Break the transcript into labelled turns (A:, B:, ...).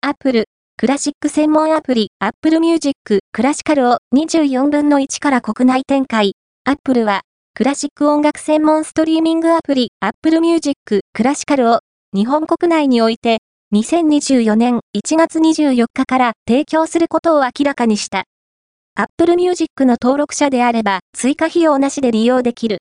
A: Apple、クラシック専門アプリ Apple Music クラシカルを24分の1から国内展開。Apple は、クラシック音楽専門ストリーミングアプリ Apple Music クラシカルを日本国内において2024年1月24日から提供することを明らかにした。Apple Music の登録者であれば追加費用なしで利用できる。